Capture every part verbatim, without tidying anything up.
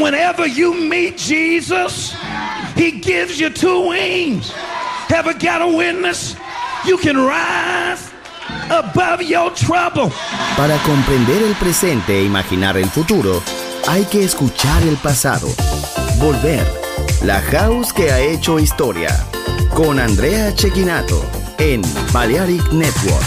whenever you meet Jesus, he gives you two wings. Ever got a witness? You can rise above your trouble. Para comprender el presente e imaginar el futuro, hay que escuchar el pasado. Volver. La House que ha hecho historia. Con Andrea Cecchinato en Balearic Network.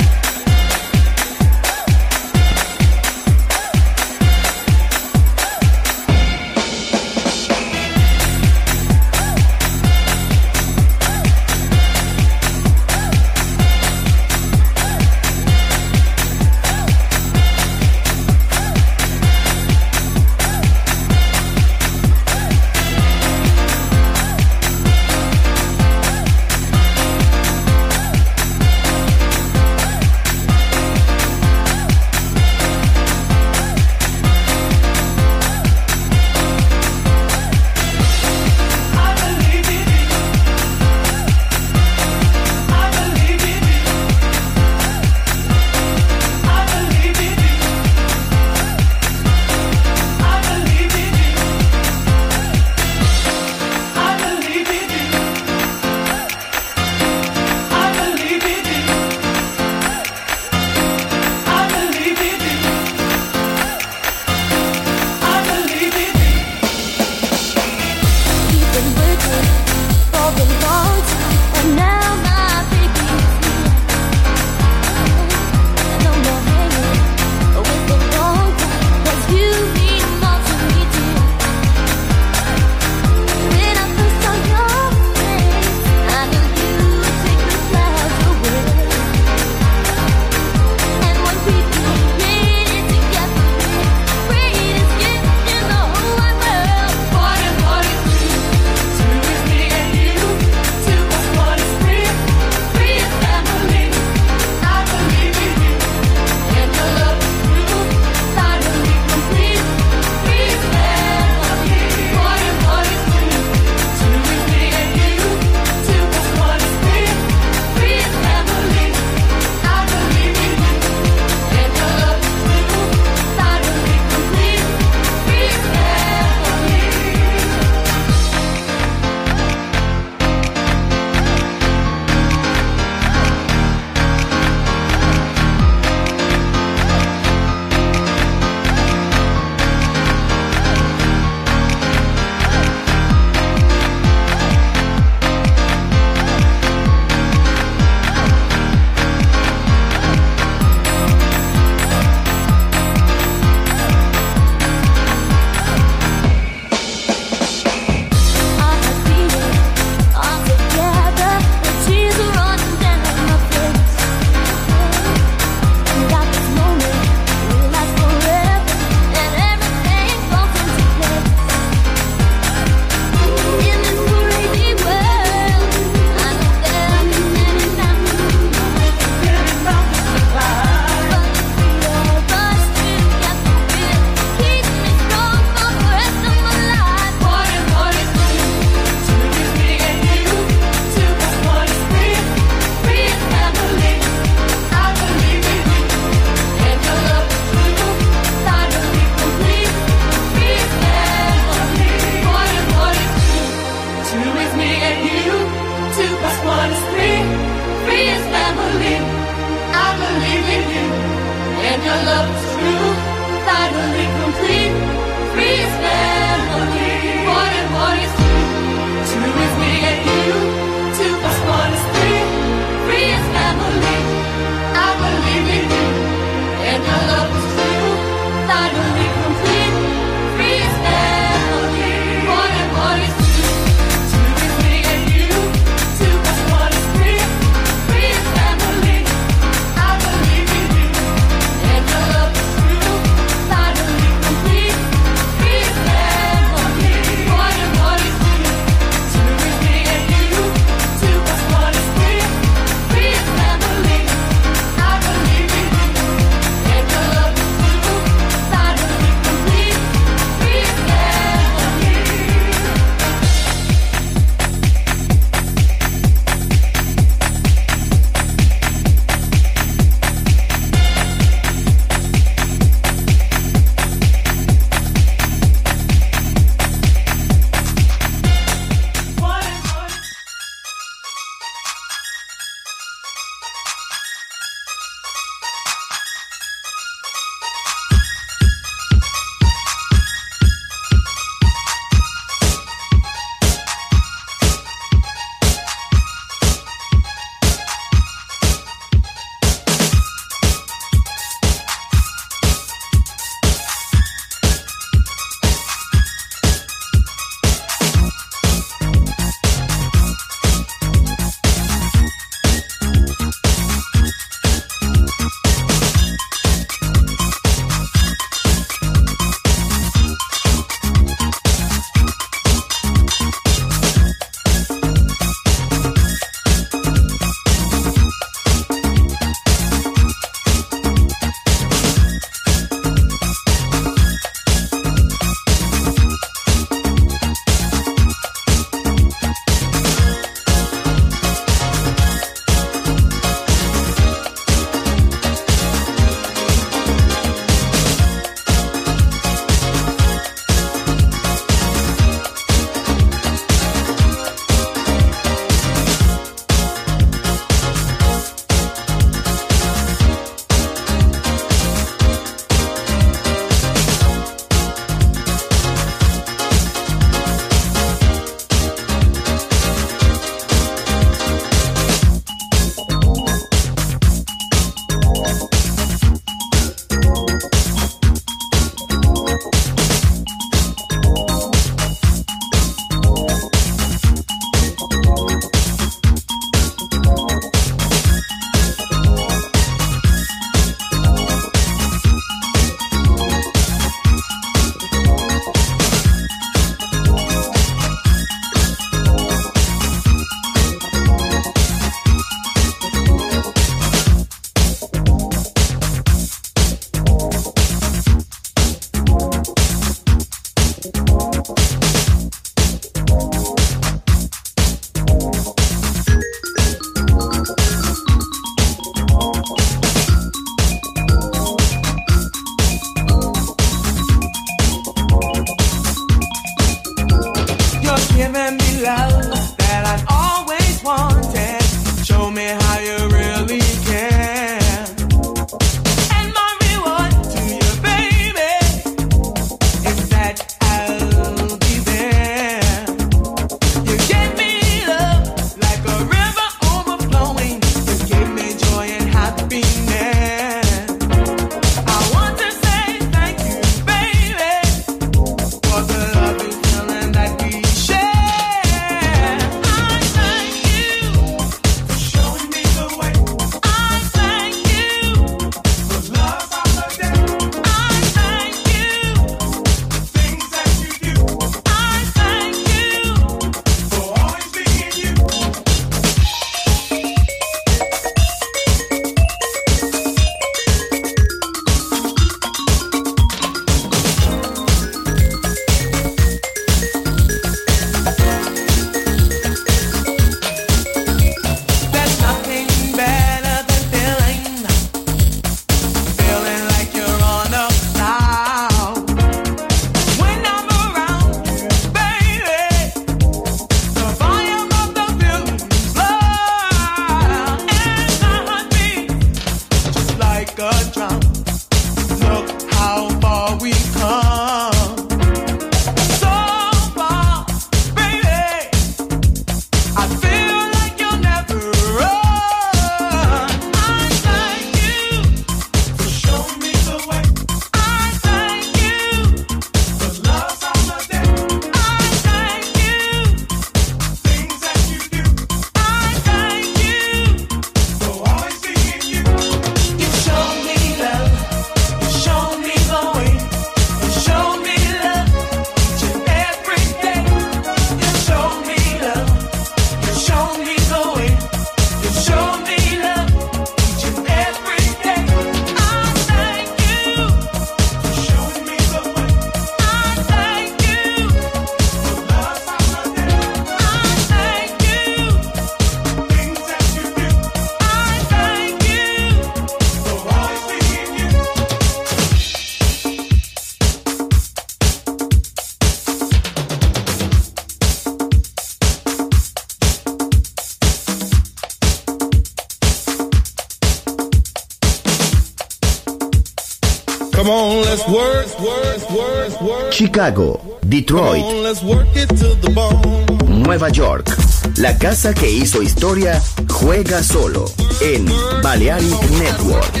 Come on, let's work, work, work, work. Chicago, Detroit, Come on, let's work it to the bone. Nueva York. La casa que hizo historia juega solo en Balearic Network.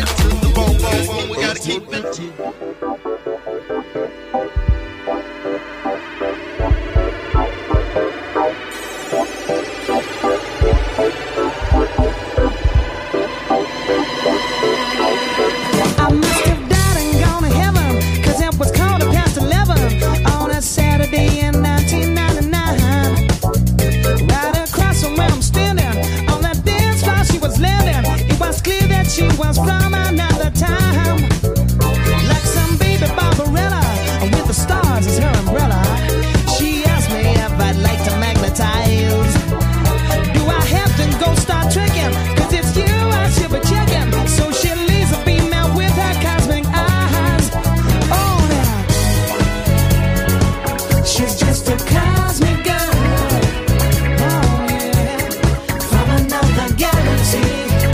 Saturday in nineteen ninety-nine, right across from where I'm standing, on that dance floor she was landing. It was clear that she was from another time, like some baby Barbarella with the stars as her umbrella. She asked me if I'd like to magnetize. Do I have to go start tricking? Cause it's you I should be checking. So she leaves a female with her cosmic eyes. Oh, now she's just a cosmic girl. Oh, yeah. From another galaxy.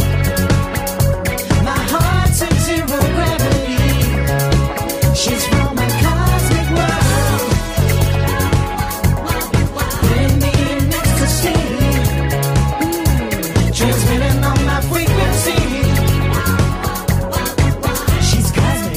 My heart's in zero gravity. She's from a cosmic world. Putting me in ecstasy. Mm. Transmitting on my frequency. She's cosmic.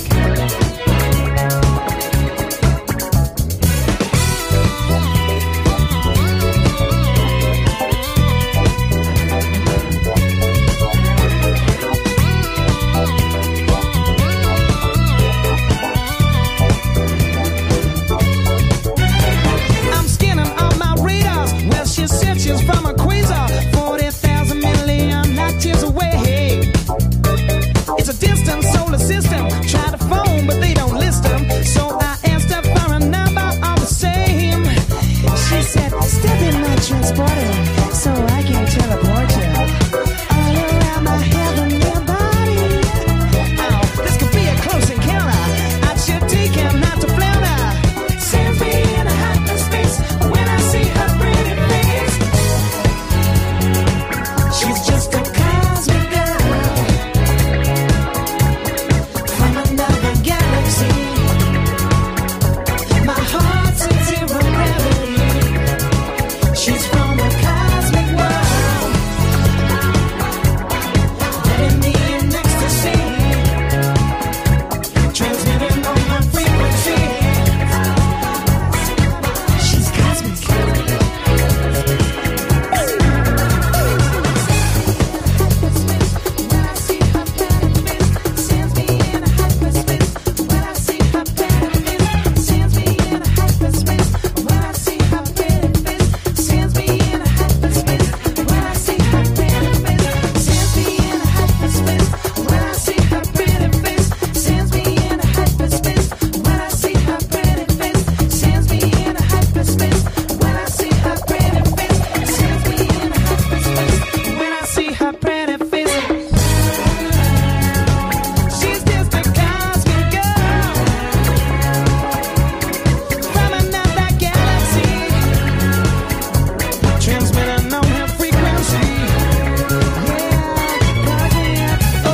I'm scanning on my radars. Well, she said she's from a quasar, forty thousand million light years away. It's a distant solar system. Try to phone, but they don't list them. So I asked her for a number all the same. She said, step in my transporter so I can teleport you all around my heavenly body. Oh, this could be a close encounter. I should take him not to flounder. Sends me in a hyperspace when I see her pretty face. She's just a cosmic girl from another galaxy. My heart's in zero gravity. She's from a cosmic world. Letting me in ecstasy. Transmitting on my frequency. She's cosmic. When I see her pretty face, sends me in a hyperspace. When I see her pretty face, sends me in a hyperspace. When I see her pretty face, sends me in a hyperspace. When I see her pretty face, sends me in a hyperspace. When I see her pretty face, sends me in a hyperspace. When I see her pretty face, sends me in a hyperspace. When I see her pretty face, sends me in a hyperspace. When I see her pretty face, she's just a cosmic girl from another galaxy, transmitting on her frequency. Yeah, cosmic. Oh,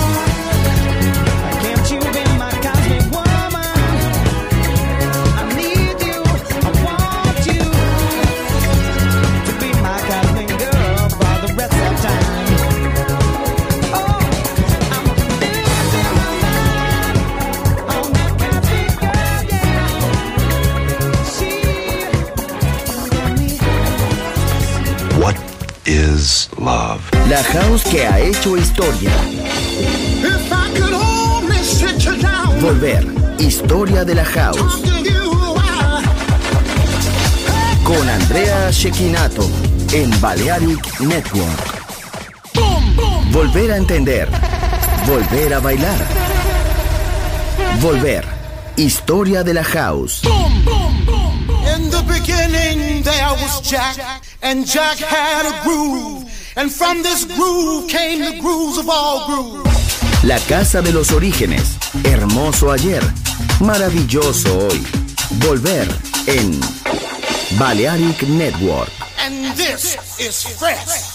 can't you be my cosmic woman? I need you, I want you to be my cosmic girl for the rest of time. Oh, I'm losing my mind on that cosmic girl, yeah. She got me. What is love? La house que ha hecho historia. If I could only sit you down, Volver. Historia de la house. talk to you while Con Andrea Cecchinato en Balearic Network. Volver a entender. Volver a bailar. Volver. Historia de la house. in the beginning there was Jack, and Jack had a groove, and from this groove came the grooves of all grooves. La casa de los orígenes. Hermoso ayer. Maravilloso hoy. Volver en Balearic Network. And this is fresh.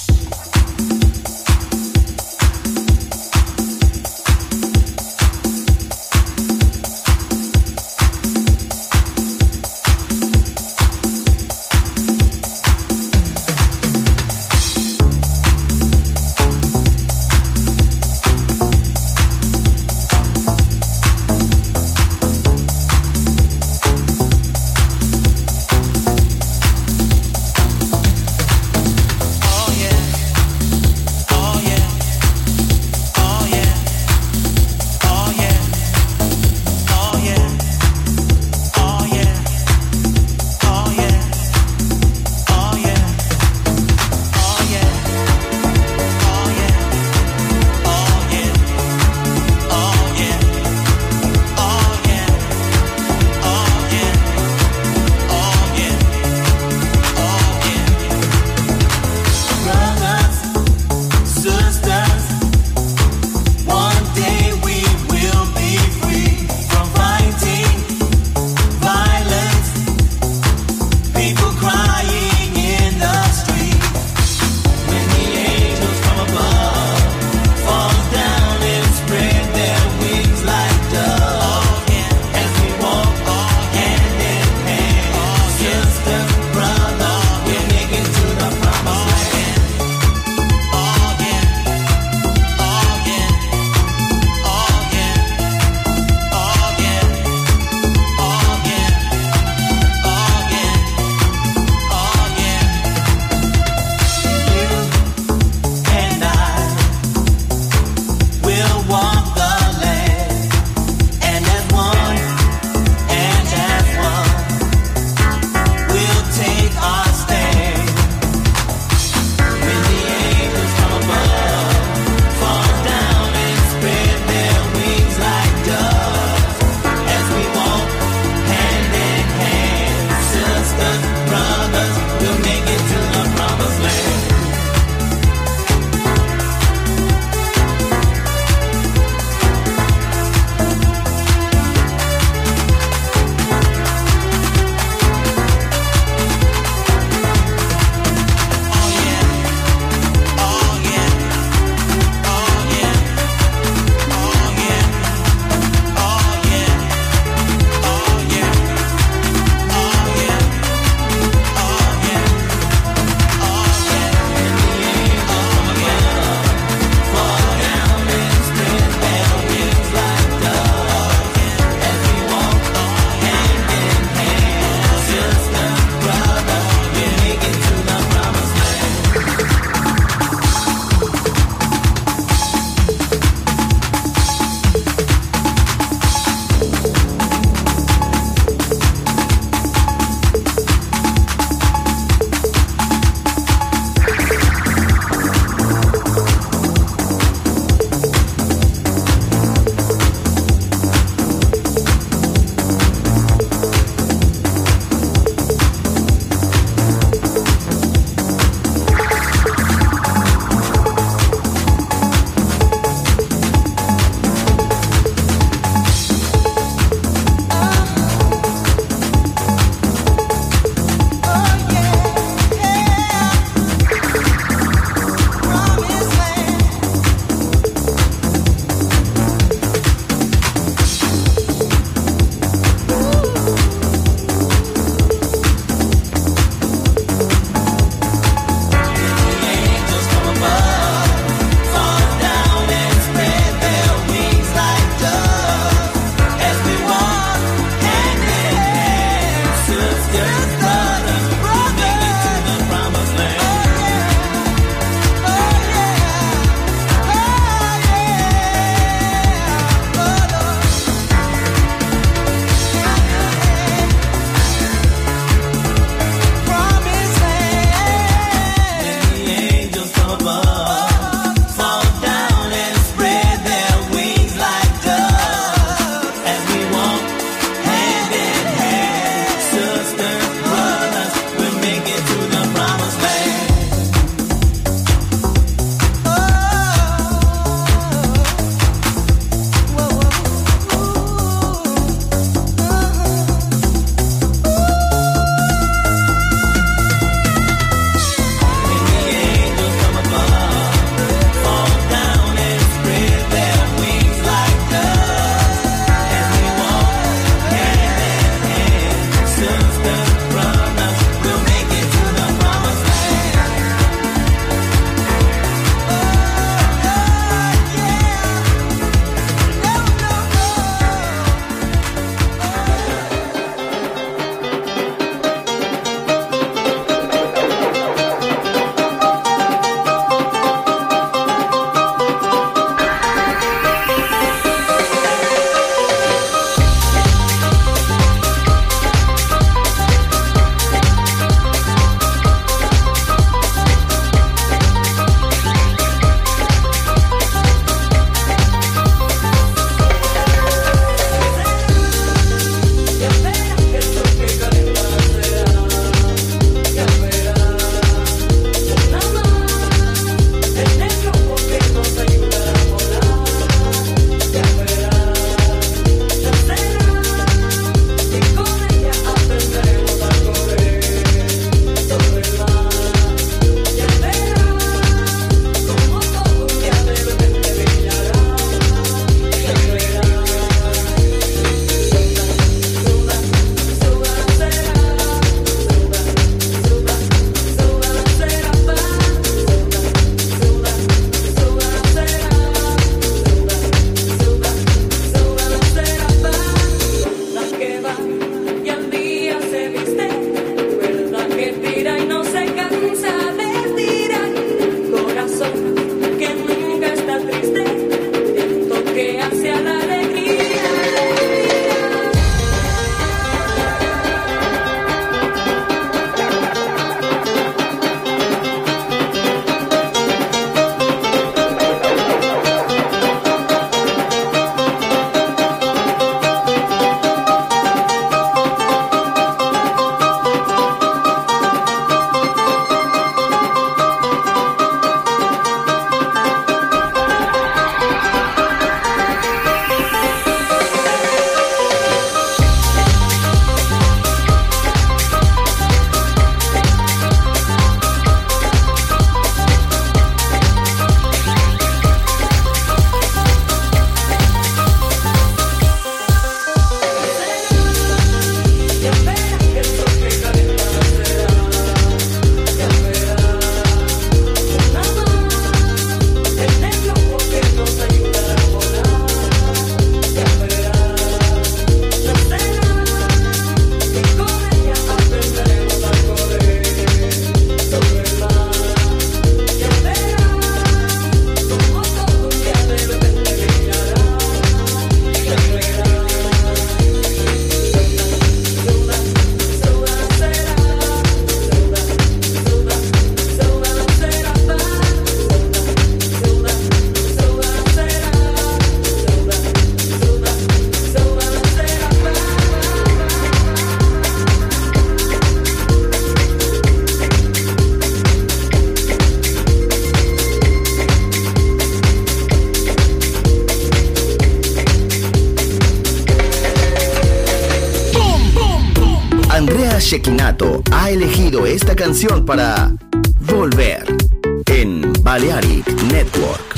Shekinato ha elegido esta canción para Volver en Balearic Network.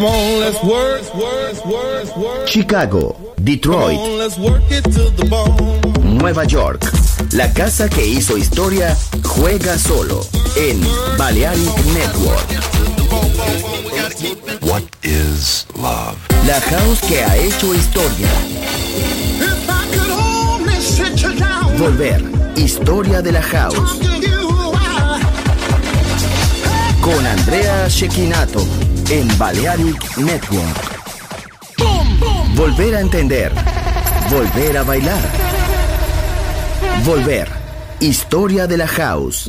Come on, let's work, work, work, work. Chicago, Detroit, Come on, let's work it to the bone. Nueva York. La casa que hizo historia juega solo en Balearic Network. What is love? La house que ha hecho historia. If I could only sit you down, Volver. Historia de la house. talk to you, I- Con Andrea Cecchinato en Balearic Network. Volver a entender. Volver a bailar. Volver. Historia de la house.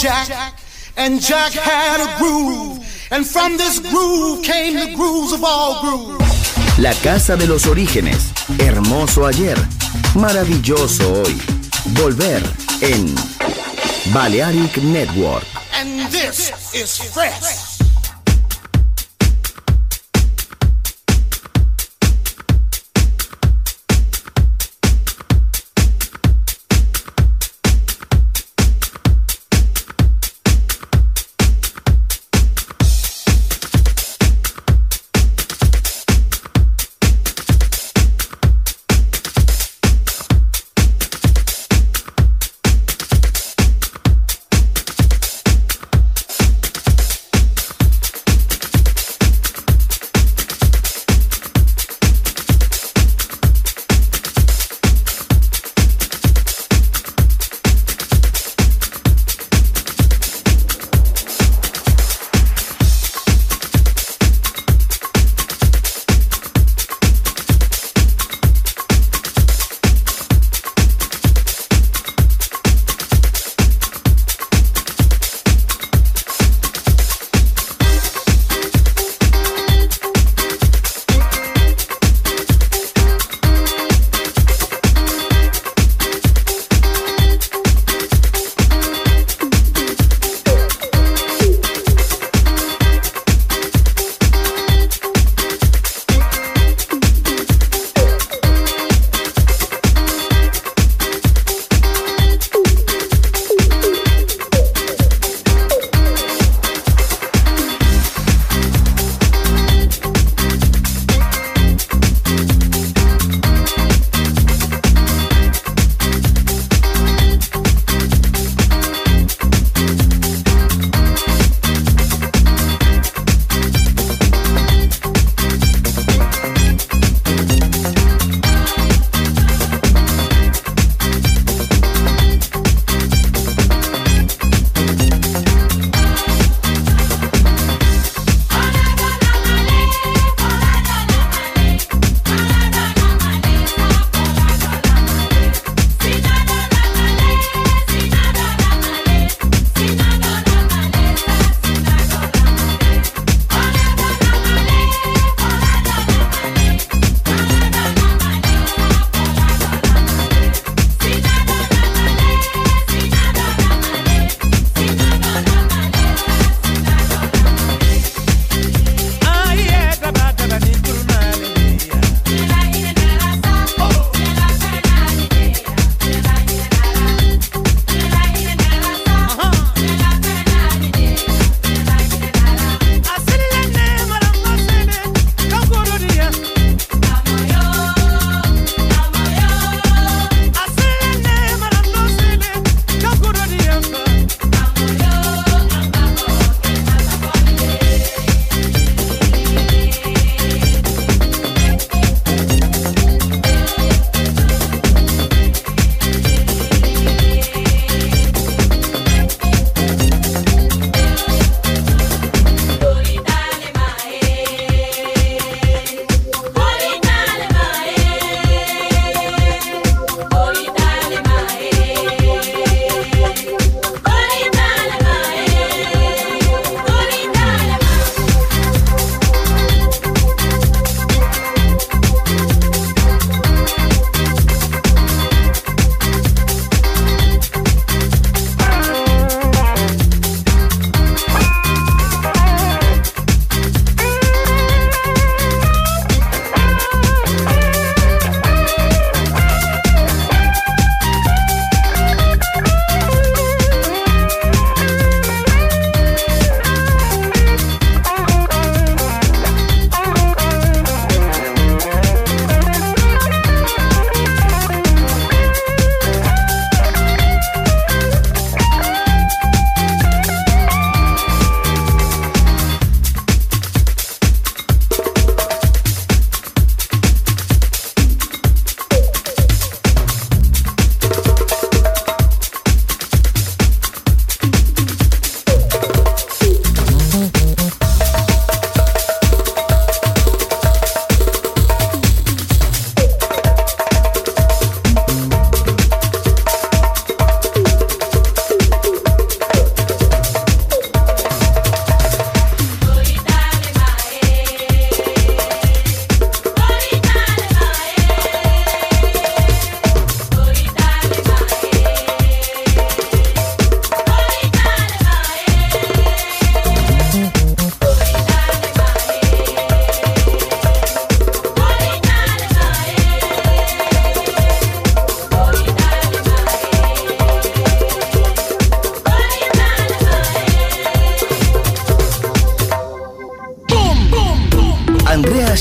Jack, and Jack had a groove, and from this groove came the grooves of all grooves. La casa de los orígenes, hermoso ayer, maravilloso hoy. Volver en Balearic Network. And this is fresh.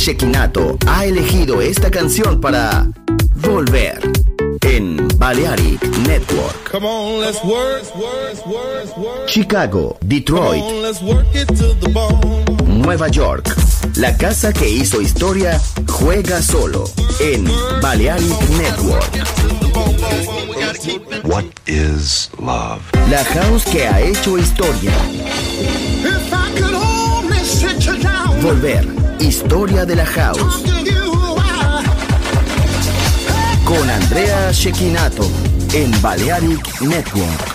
Shekinato ha elegido esta canción para volver en Balearic Network. Come on, let's work, work, work, work. Chicago, Detroit, Come on, let's work it to the bone. Nueva York. La casa que hizo historia juega solo en Balearic Network. What is love? La house que ha hecho historia. If I could only sit you down, Volver, historia de la house. talking to you while Con Andrea Shekinato en Balearic Network.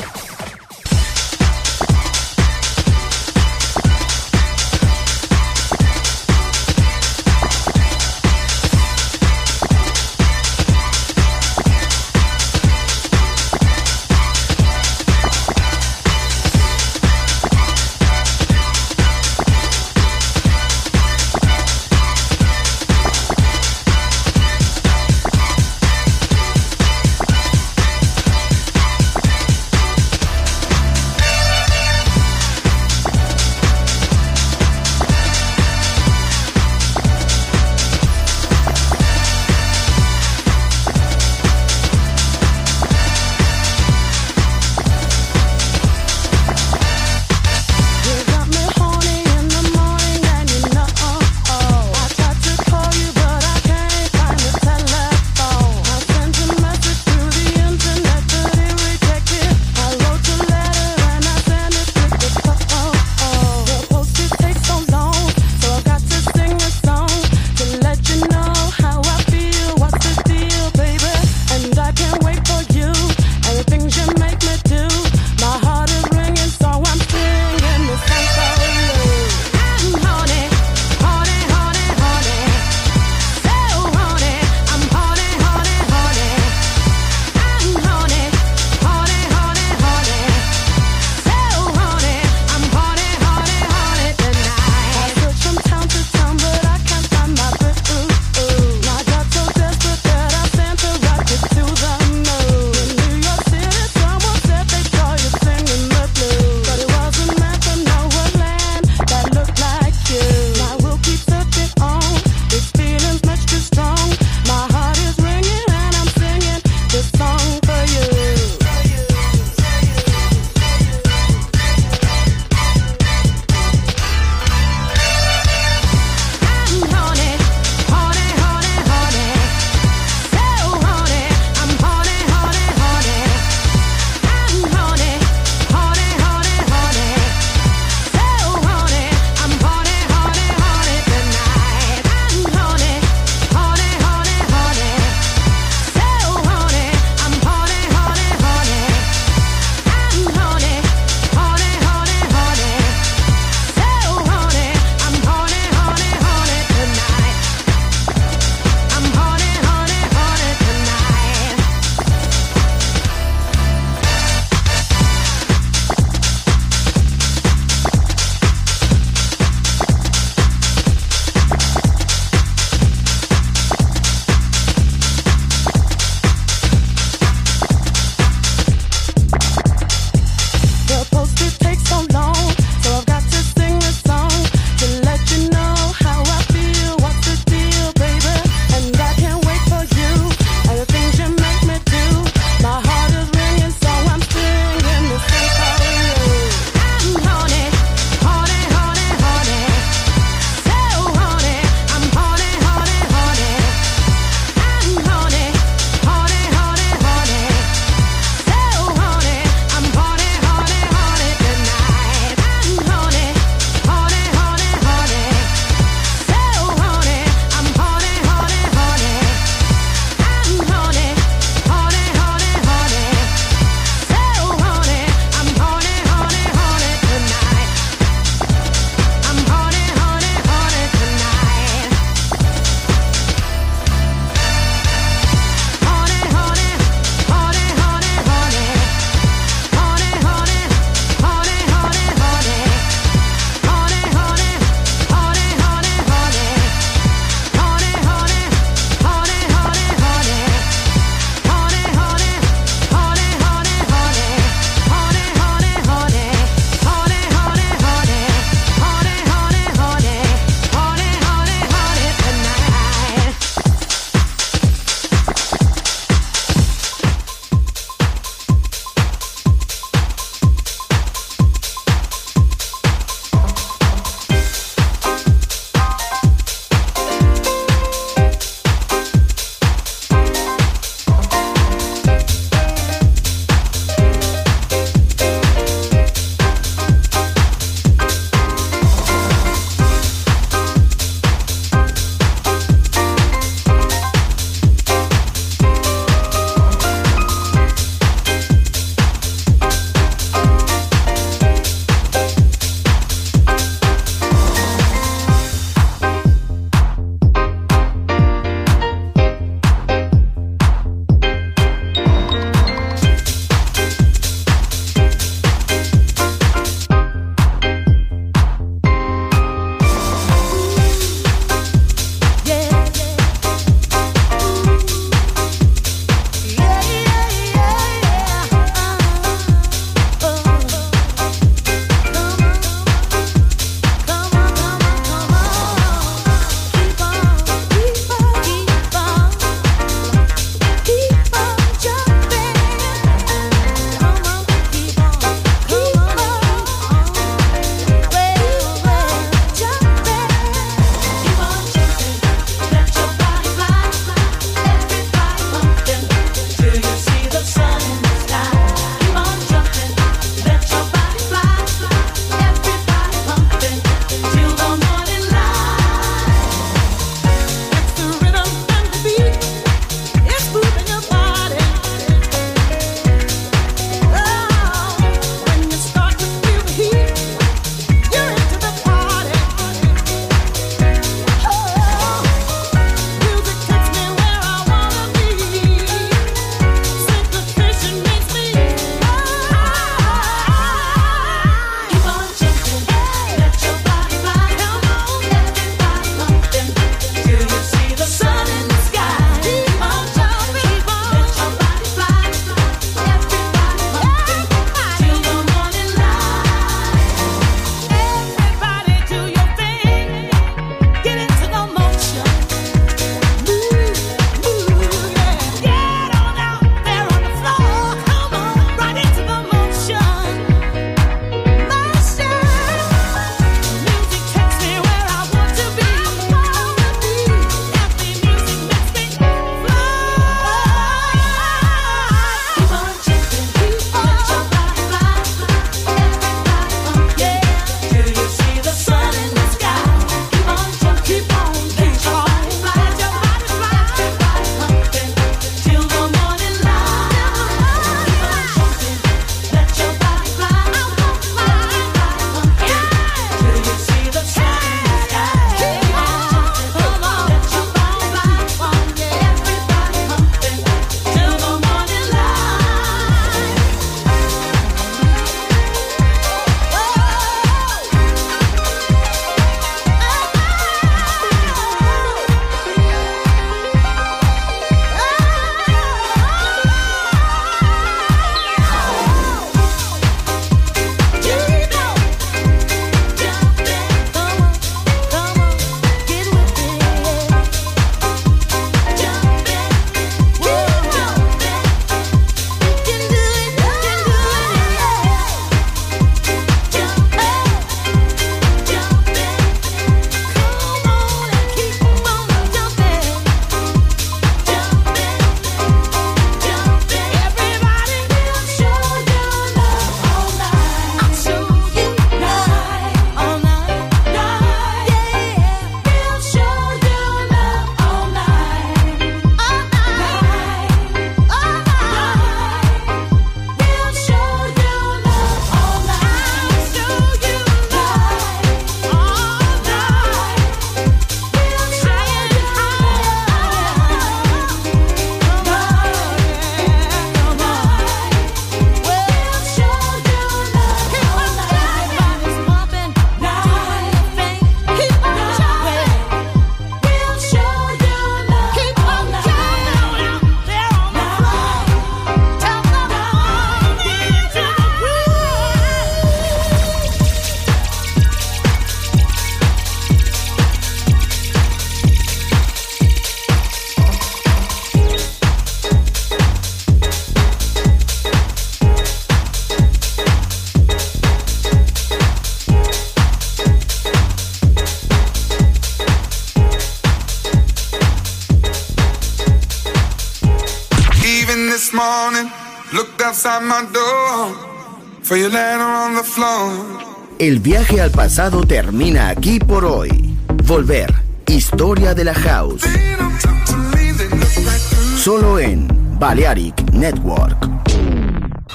morning, looked outside my door for your letter on the floor. El viaje al pasado termina aquí por hoy. Volver, historia de la house. Solo en Balearic Network.